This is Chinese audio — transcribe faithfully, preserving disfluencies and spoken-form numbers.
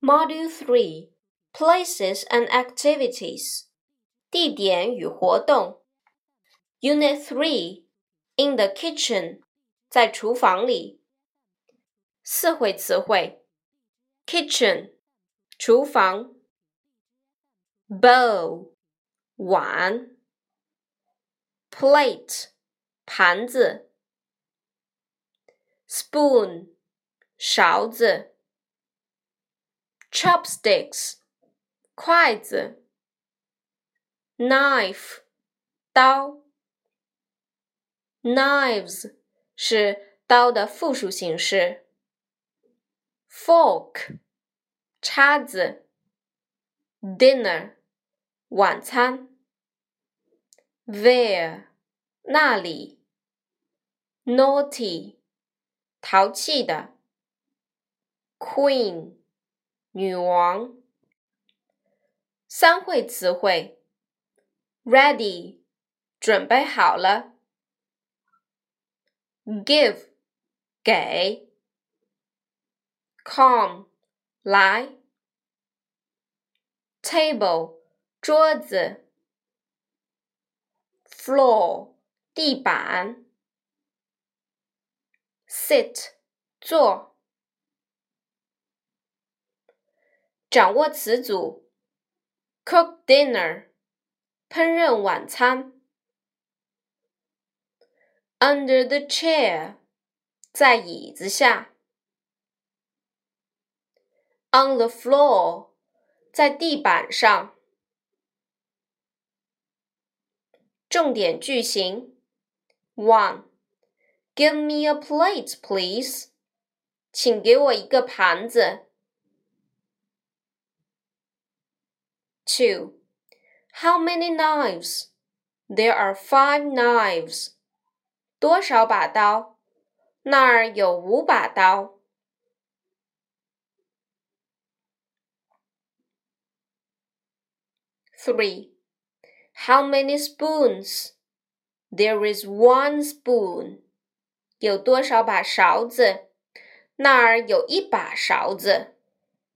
Module three, Places and Activities. 地点与活动。Unit three, In the kitchen. 在厨房里。四会词汇 Kitchen, 厨房。Bowl, 碗。Plate, 盘子。Spoon, 勺子。Chopsticks, 筷子。Knife, 刀。Knives 是刀的复数形式。Fork, 叉子。Dinner, 晚餐。There, 那里。Naughty, 淘气的。Queen, 女王。三会词汇 Ready, 准备好了。Give, 给。Come, 来。Table, 桌子。Floor, 地板。Sit, 坐。掌握词组 Cook dinner, 烹饪晚餐。Under the chair, 在椅子下。On the floor, 在地板上。重点句型 one, Give me a plate, please. 请给我一个盘子。two, How many knives? There are five knives. 多少把刀？那儿有五把刀。three, How many spoons? There is one spoon. 有多少把勺子？那儿有一把勺子。